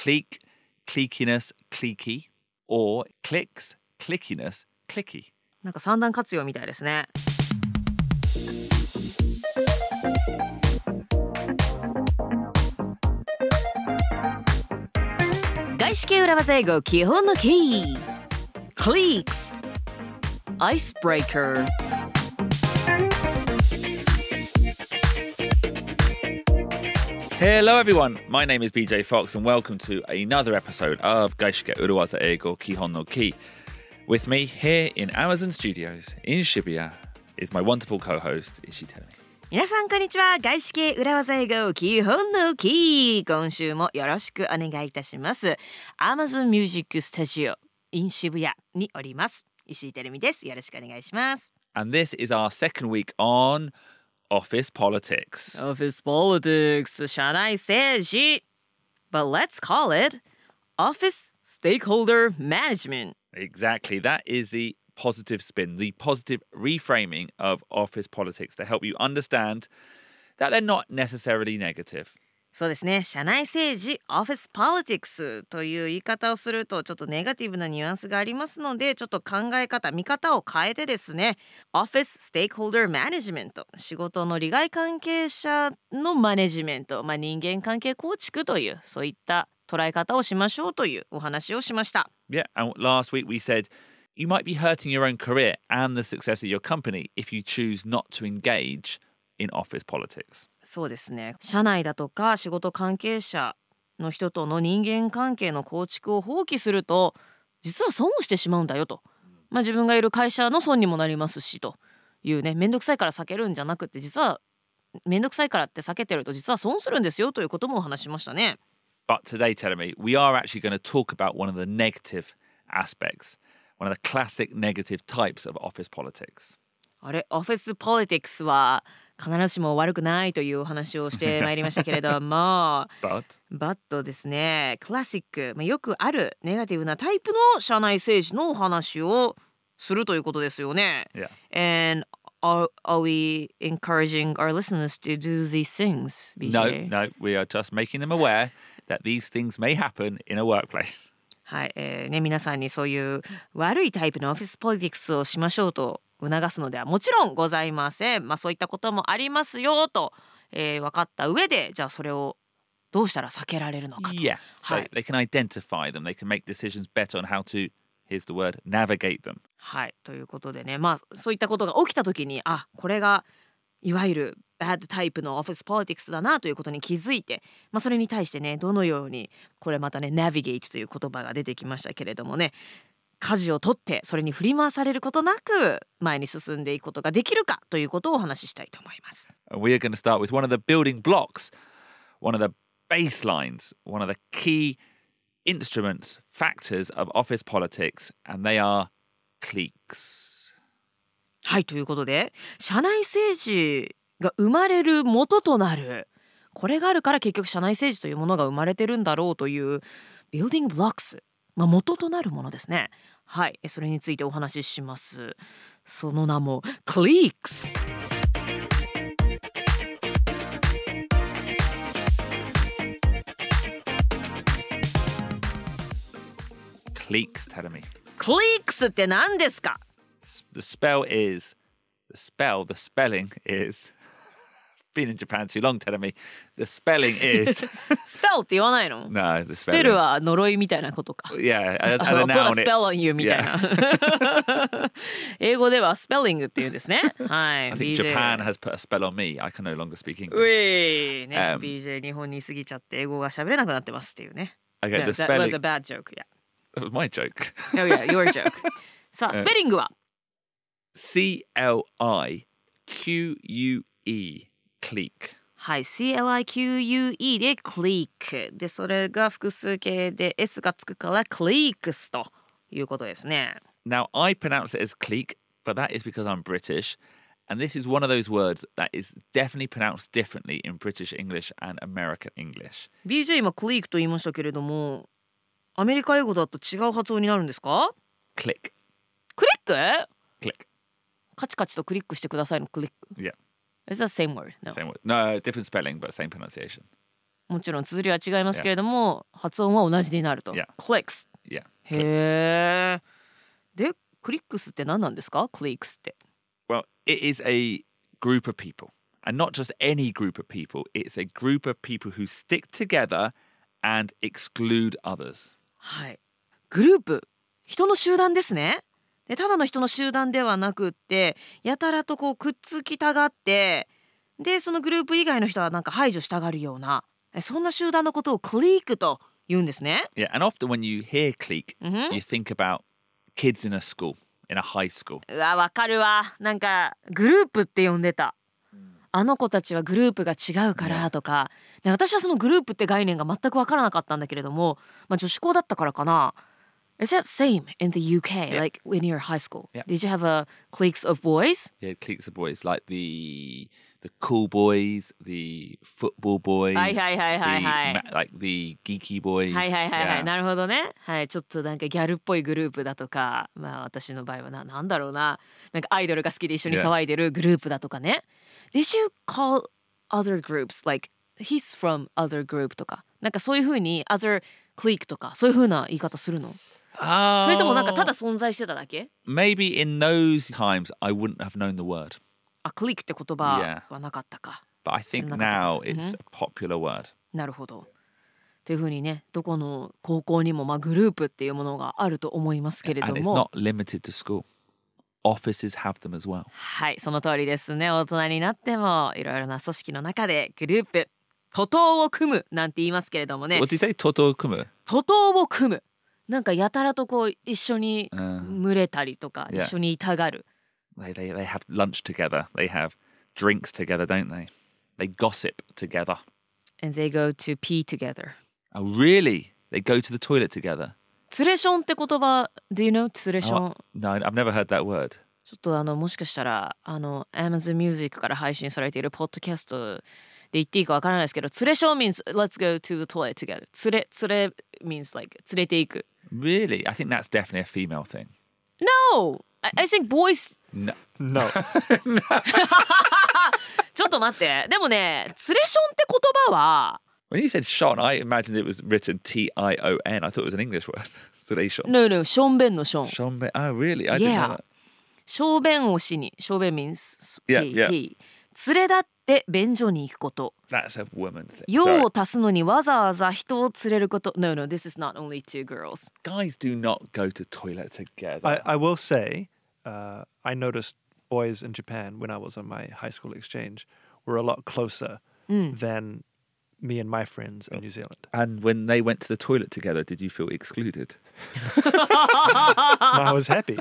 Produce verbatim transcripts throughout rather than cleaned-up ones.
Clique, cliquiness, cliquey, or clicks, clickiness, clicky. なんか三段活用みたいですね。外資系裏技英語基本のキー Cliques Icebreaker Hello everyone, my name is B J Fox and welcome to another episode of 外資系裏技英語基本のキー With me here in Amazon Studios in Shibuya is my wonderful co-host Ishii Terumi. 皆さんこんにちは。外資系裏技英語基本のキー、今週もよろしくお願いいたします。 Amazon Music Studio in 渋谷におります石井てるみです。よろしくお願いします。 And this is our second week on Office Politics. Office Politics 社内政治 But let's call it Office Stakeholder Management. Exactly, that is the positive spin, the positive reframing of office politics to help you understand that they're not necessarily negative. そうですね。社内政治 Office Politics という言い方をするとちょっとネガティブなニュアンスがありますので、ちょっと考え方見方を変えてですね、 Office Stakeholder Management 仕事の利害関係者のマネジメント、まあ、人間関係構築というそういった捉え方をしましょうというお話をしました。 Yeah, and last week we said you might be hurting your own career and the success of your company if you choose not to engage in office politics. そうですね。社内だとか仕事関係者の人との人間関係の構築を放棄すると実は損をしてしまうんだよと、まあ、自分がいる会社の損にもなりますしというね、めんどくさいから避けるんじゃなくて、実はめんどくさいからって避けてると実は損するんですよということもお話しましたね。 But today, Terumi, we are actually going to talk about one of the negative aspects, one of the classic negative types of office politics. あれ、オフィスポリティクスは必ずしも悪くないというお話をしてまいりましたけれども But? バットですね、クラシック、まあ、よくあるネガティブなタイプの社内政治のお話をするということですよね。 Yeah. And are, are we encouraging our listeners to do these things, ビージェー? No, no, we are just making them aware that these things may happen in a workplace. はい、えーね、皆さんにそういう悪いタイプのオフィスポリティクスをしましょうと促すのではもちろんございません。まあそういったこともありますよと、えー、分かった上で、じゃあそれをどうしたら避けられるのかと。 Yeah, so はい、 they can identify them, they can make decisions better on how to, here's the word, navigate them. はい、ということでね、まあそういったことが起きた時に、あ、これがいわゆるバッドタイプのオフィスポリティクスだなということに気づいて、まあ、それに対してね、どのように、これまたね、ナビゲートという言葉が出てきましたけれどもね、舵を取ってそれに振り回されることなく前に進んでいくことができるかということをお話ししたいと思います。 We are going to start with one of the building blocks, one of the baselines, one of the key instruments, factors of office politics, and they are cliques. はい、ということで社内政治が生まれる元となる、これがあるから結局社内政治というものが生まれてるんだろうというビルディングブロックス、まあ、元となるものですね。はい、それについてお話しします。その名もクリークス。 Cliques, tell me. クリークスって何ですか？ The spell is, the spell, the spelling is, been in Japan too long, telling me, the spelling is, スペルって言わないの？ no, the スペル spelling. は呪いみたいなことか。 Yeah, as, as あ a の put a noun, it, spell on you みたいな。英語ではスペリングって言うんですね。はい。 I think ビージェー Japan has put a spell on me. I can no longer speak う English. いね、 Um, ビージェー 日本に過ぎちゃって英語が喋れなくなってますっていうね。 Okay, Yeah, the that was spelling, a bad joke. Yeah. that was my joke. Oh yeah, your joke. さあ、スペリングは C L I Q U E, clique. はい、シーエルアイキューユーイー で clique で、それが複数形で S がつくから cliques ということですね。 Now, I pronounce it as clique, but that is because I'm British. And this is one of those words that is definitely pronounced differently in British English and American English. ビージェー 今 clique と言いましたけれども、アメリカ英語だと違う発音になるんですか？ Click. クリック？ Click. カチカチとクリックしてくださいのクリック。 Yeah. Is that the same word? No. Same word. No, different spelling, but same pronunciation. もちろん綴りは違いますけれども、yeah. 発音は同じになると。 Yeah. Clicks. Yeah. へー。で、クリックスって何なんですか？ Clicks って。 Well, it is a group of people. And not just any group of people. It's a group of people who stick together and exclude others. はい。グループ。人の集団ですね。で、ただの人の集団ではなくって、やたらとこうくっつきたがって、で、そのグループ以外の人はなんか排除したがるような、そんな集団のことをクリークと言うんですね。 Yeah, and often when you hear clique,、mm-hmm. you think about kids in a school, in a high school. うわ、わかるわ。なんかグループって呼んでた。あの子たちはグループが違うからとか、で私はそのグループって概念が全く分からなかったんだけれども、まあ、女子校だったからかな。Is that same in the U K, yeah. like in your high school? Yeah. Did you have a cliques of boys? Yeah, cliques of boys, like the the cool boys, the football boys, はいはいはいはいはい、 the, like the geeky boys. はいはいはいはい、 yeah. なるほどね。はい、ちょっとなんかギャルっぽいグループだとか、まあ私の場合はな、なんだろうな、なんかアイドルが好きで一緒に騒いでるグループだとかね。Did you call other groups like he's from other group とか、なんかそういう風に other clique とかそういう風な言い方するの？ Oh, それともなんかただ存在してただけ？ Maybe in those times I wouldn't have known the word. あ、clique って言葉はなかったか。 But I think now it's a popular word. なるほど。という風にね、どこの高校にもまあグループっていうものがあると思いますけれども。 And it's not limited to school.Offices have them as well. はい、その通りですね。大人になってもいろいろな組織の中でグループ、徒党を組むなんて言いますけれどもね。 What did you say? 徒党を組む？ 徒党を組む。なんかやたらとこう一緒に群れたりとか、uh, 一緒にいたがる。 Yeah. They, they, they have lunch together. They have drinks together, don't they? They gossip together. And they go to pee together. Oh, really? They go to the toilet together? ツレションって言葉 Do you know ツレション、oh, No, I've never heard that word. ちょっとあのもしかしたらあの Amazon Music から配信されているポッドキャストで言っていいかわからないですけど、ツレション means let's go to the toilet together. ツレツレ means like 連れていく。 Really? I think that's definitely a female thing. No! I, I think boys... No. No. ちょっと待って。でもね、ツレションって言葉は When you said Sean, I imagined it was written T I O N. I thought it was an English word. Sean. No, no, ションベンのション。 ションベン。Oh, really? I yeah. didn't know that. ショーベンをしに。ショーベン means yeah, he, yeah. he. 連れ立って便所に行くこと。 That's a woman thing. 用を足すのにわざわざ人を連れること。No, no, this is not only two girls. Guys do not go to toilet together. I, I will say, uh, I noticed boys in Japan when I was on my high school exchange were a lot closer mm. than me and my friends in New Zealand. And when they went to the toilet together, did you feel excluded? No, I was happy.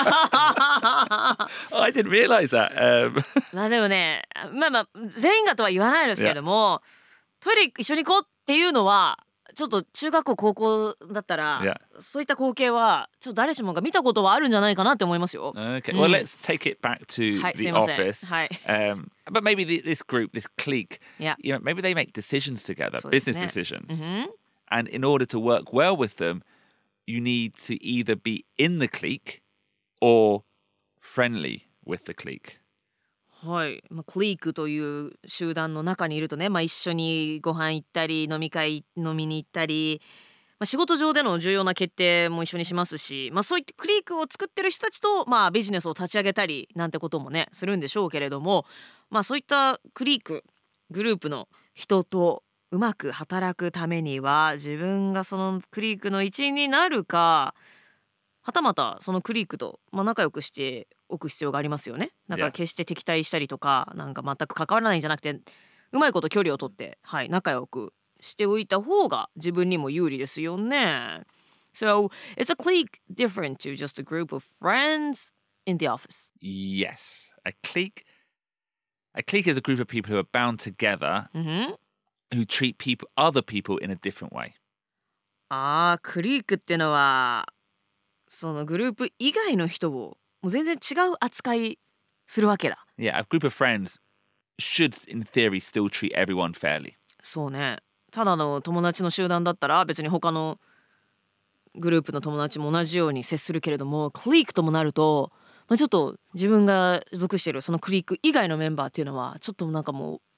Oh, I didn't realize that. Um... まあでもね、まあまあ全員がとは言わないですけれども、トイレ一緒に行こうっていうのはちょっと中学校高校だったら、 yeah. そういった光景はちょっと誰しもが見たことはあるんじゃないかなって思いますよ。 Okay, well、うん、let's take it back to、はい、the office. はい。 Um, but maybe the, this group, this clique, yeah. you know, maybe they make decisions together, そうですね。 business decisions. Mm-hmm. And in order to work well with them, you need to either be in the clique or friendly with the clique. はい、まあ、クリークという集団の中にいるとね、まあ、一緒にご飯行ったり飲み会飲みに行ったり、まあ、仕事上での重要な決定も一緒にしますし、まあ、そういったクリークを作ってる人たちと、まあ、ビジネスを立ち上げたりなんてこともねするんでしょうけれども、まあ、そういったクリークグループの人とうまく働くためには自分がそのクリークの一員になるか、はたまたそのクリークと、まあ、仲良くしておく必要がありますよね。なんか決して敵対したりとか、なんか全く関わらないんじゃなくて、うまいこと距離を取って、はい、仲良くしておいた方が自分にも有利ですよね。So, is a clique different to just a group of friends in the office? Yes. A clique, a clique is a group of people who are bound together、mm-hmm. who treat people, other people in a different way. ああ、クリークってのはそのグループ以外の人をもう全然違う扱いするわけだ。 Yeah, a group of friends should, in theory, still treat everyone fairly. そうね。ただの友達の集団だったら別に他のグループの友達も同じように接するけれども、クリークともなると、まあ、ちょっと自分が属しているそのクリーク以外のメンバーっていうのはちょっとなんかもう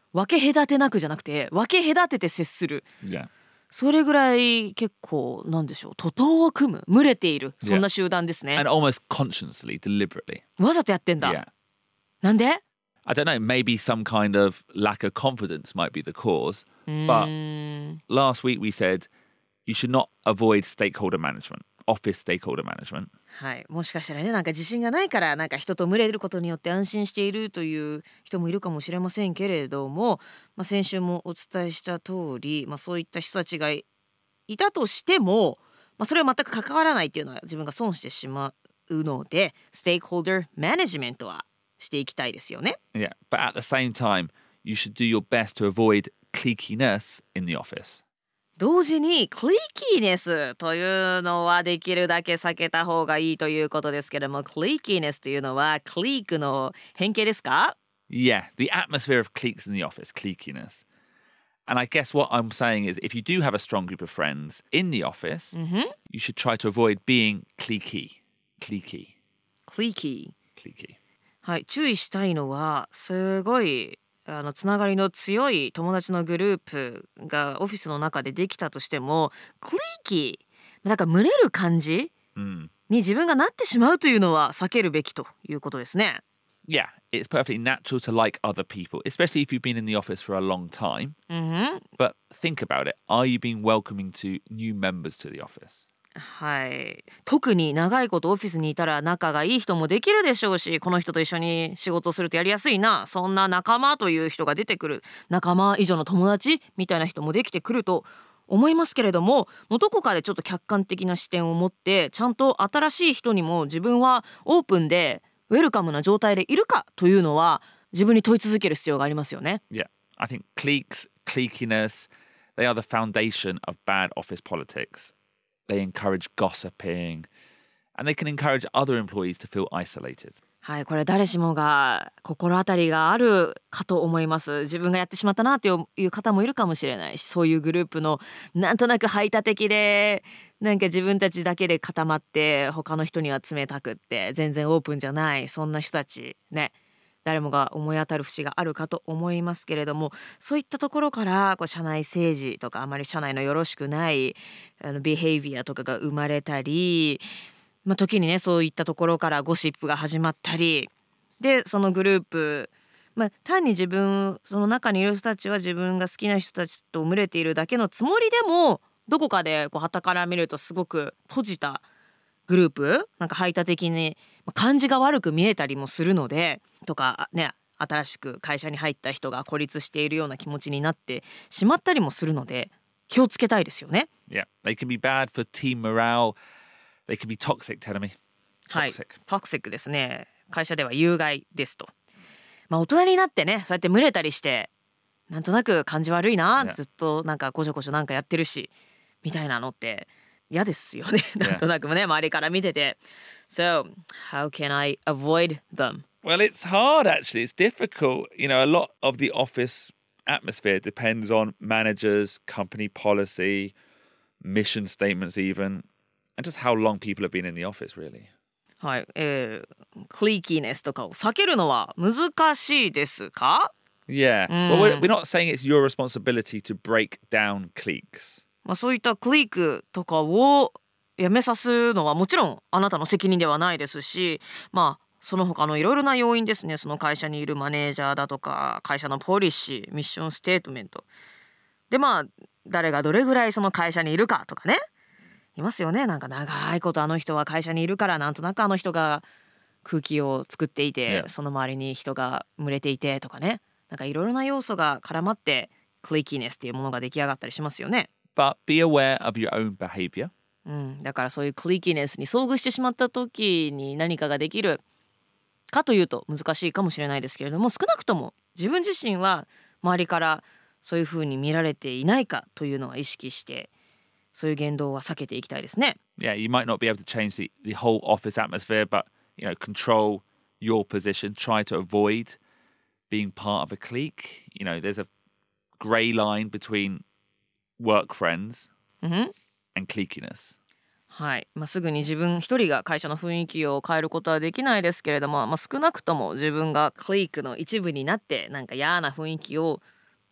分け隔てなくじゃなくて分け隔てて接する。 Yeah. それぐらい結構なんでしょう、徒党を組む、群れている、そんな集団ですね。 And almost consciously, deliberately. わざとやってんだ。 Yeah. なんで？ I don't know, maybe some kind of lack of confidence might be the cause. う But ーん last week we said you should not avoid stakeholder management, office stakeholder management. はい、もしかしたらね、なんか自信がないからなんか人と群れることによって安心しているという人もいるかもしれませんけれども、まあ、先週もお伝えした通り、まあ、そういった人たちがいたとしても、まあ、それは全く関わらないっていうのは自分が損してしまうので、ステークホルダーマネジメントはしていきたいですよね。 Yeah, but at the same time, you should do your best to avoid cliqueiness in the office. 同時にクリーキーネスというのはできるだけ避けた方がいいということですけども、クリーキーネスというのはクリークの変形ですか？ Yeah, the atmosphere of cliques in the office, cliqueiness. And I guess what I'm saying is if you do have a strong group of friends in the office, you should try to avoid being cliquey. Cliquey. クリーキー。 Cliquey. はい、注意したいのはすごいあのつながりの強い友達のグループがオフィスの中でできたとしても、クリーキーだから群れる感じ Mm. に自分がなってしまうというのは避けるべきということですね。 Yeah, it's perfectly natural to like other people, especially if you've been in the office for a long time. うんふん、 But think about it. Are you being welcoming to new members to the office? はい、特に長いことオフィスにいたら仲がいい人もできるでしょうし、この人と一緒に仕事をするとやりやすいな、そんな仲間という人が出てくる、仲間以上の友達みたいな人もできてくると思いますけれども、もうどこかでちょっと客観的な視点を持ってちゃんと新しい人にも自分はオープンでウェルカムな状態でいるかというのは自分に問い続ける必要がありますよね。 Yeah, I think cliques, cliqueiness, they are the foundation of bad office politics. They encourage gossiping, and they can encourage other employees to feel isolated. はい、これ誰しもが心当たりがあるかと思います。自分がやってしまったなという方もいるかもしれないし、そういうグループのなんとなく排他的でなんか自分たちだけで固まって他の人には冷たくって全然オープンじゃない、そんな人たちね、誰もが思い当たる節があるかと思いますけれども、そういったところからこう社内政治とかあまり社内のよろしくないあのビヘイビアとかが生まれたり、まあ、時にねそういったところからゴシップが始まったりで、そのグループ、まあ、単に自分その中にいる人たちは自分が好きな人たちと群れているだけのつもりでも、どこかでこう傍から見るとすごく閉じたグループ、なんか排他的に感じが悪く見えたりもするので、とかね、新しく会社に入った人が孤立しているような気持ちになってしまったりもするので気をつけたいですよね。 Yeah, they can be bad for team morale. They can be toxic, tell me. はい、 Toxic. トクシックですね。会社では有害ですと。まあ大人になってね、そうやって群れたりしてなんとなく感じ悪いな、 Yeah. ずっとなんかこちょこちょなんかやってるしみたいなのって嫌ですよね。なんとなくね、周りから見てて。 So, how can I avoid them? Well, it's hard actually. It's difficult. You know, a lot of the office atmosphere depends on managers, company policy, mission statements even, and just how long people have been in the office, really. はい、えー、クリーキーネスとかを避けるのは難しいですか？ Yeah. Well, we're, we're not saying it's your responsibility to break down cliques. まあ、そういったクリークとかをやめさすのはもちろんあなたの責任ではないですし、まあその他のいろいろな要因ですね。その会社にいるマネージャーだとか会社のポリシー、ミッションステートメントで、まあ誰がどれぐらいその会社にいるかとかね、いますよね。なんか長いことあの人は会社にいるからなんとなくあの人が空気を作っていて、 Yeah. その周りに人が群れていてとかね、なんかいろいろな要素が絡まってクリーキーネスっていうものが出来上がったりしますよね。 But be aware of your own behavior. うん、だからそういうクリーキーネスに遭遇してしまった時に何かができるかというと難しいかもしれないですけれども、少なくとも自分自身は周りからそういうふうに見られていないかというのは意識してそういう言動は避けていきたいですね。 Yeah, you might not be able to change the, the whole office atmosphere, but, you know, control your position. Try to avoid being part of a clique. You know, there's a grey line between work friends うん、 and cliqueiness. はい、まあ、すぐに自分一人が会社の雰囲気を変えることはできないですけれども、まあ、少なくとも自分がクリークの一部になってなんか嫌な雰囲気を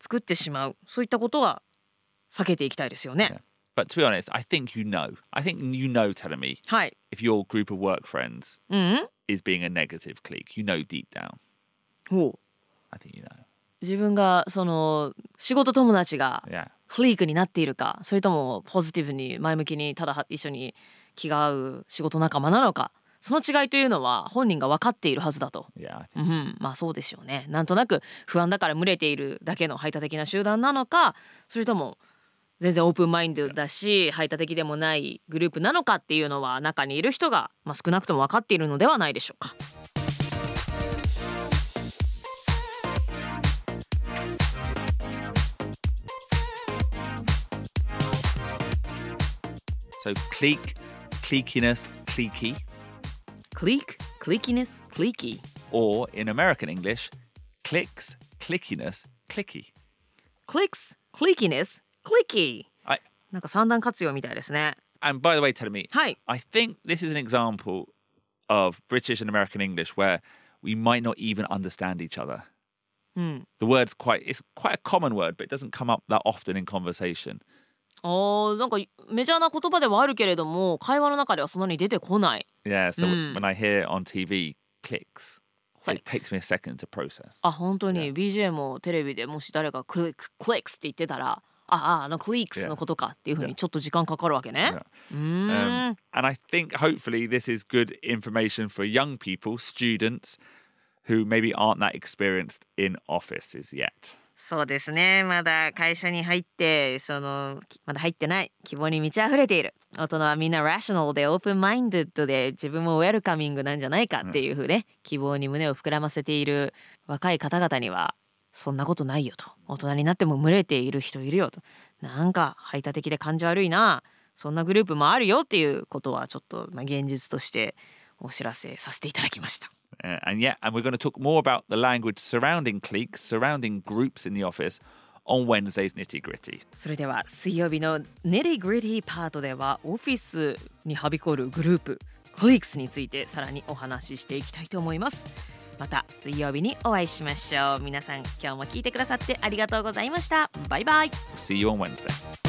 作ってしまう、そういったことは避けていきたいですよね。 But to be honest, I think you know. I think you know telling me はい。 if your group of work friends うん is being a negative clique. You know deep down. ほう I think you know. 自分がその仕事友達が Yeah. クリークになっているか、それともポジティブに前向きにただ一緒に気が合う仕事仲間なのか、その違いというのは本人が分かっているはずだと。 Yeah, I う think so. ん、まあそうでしょうね。なんとなく不安だから群れているだけの排他的な集団なのか、それとも全然オープンマインドだし排他的でもないグループなのかっていうのは中にいる人が、まあ、少なくとも分かっているのではないでしょうか。 So clique, cliqueiness, cliquey. Clique, cliqueiness, cliquey. Or in American English, cliques, clickiness, clicky. Clicks, cliqueiness, cliquey. I, なんか三段活用みたいですね。 and by the way, tell me, はい。 I think this is an example of British and American English where we might not even understand each other. うん。 The word's quite, it's quite a common word, but it doesn't come up that often in conversation. あー、なんかメジャーな言葉ではあるけれども会話の中ではそんなに出てこない。 Yeah, so Mm. when I hear on T V clicks, it Clicks. takes me a second to process. あ、本当に ビージェー もテレビでもし誰がクリック、クリックスって言ってたら、ああ、あのクリックスのことかっていうふうにちょっと時間かかるわけね。 Yeah. うーん。 Um, and I think hopefully this is good information for young people, students who maybe aren't that experienced in offices yet. そうですね。まだ会社に入ってそのまだ入ってない希望に満ち溢れている大人はみんなラショナルでオープンマインドで自分もウェルカミングなんじゃないかっていうふうね、希望に胸を膨らませている若い方々にはそんなことないよと、大人になっても群れている人いるよと、なんか排他的で感じ悪いな、そんなグループもあるよっていうことはちょっと、まあ、現実としてお知らせさせていただきました。 Uh, and yeah, and we're going to talk more about the language surrounding cliques, surrounding groups in the office on Wednesday's Nitty Gritty. それでは水曜日のネリグリティパートではオフィスにはびこるグループクリックスについてさらにお話ししていきたいと思います。また水曜日にお会いしましょう。皆さん今日も聞いてくださってありがとうございました。バイバイ。 We'll see you on Wednesday.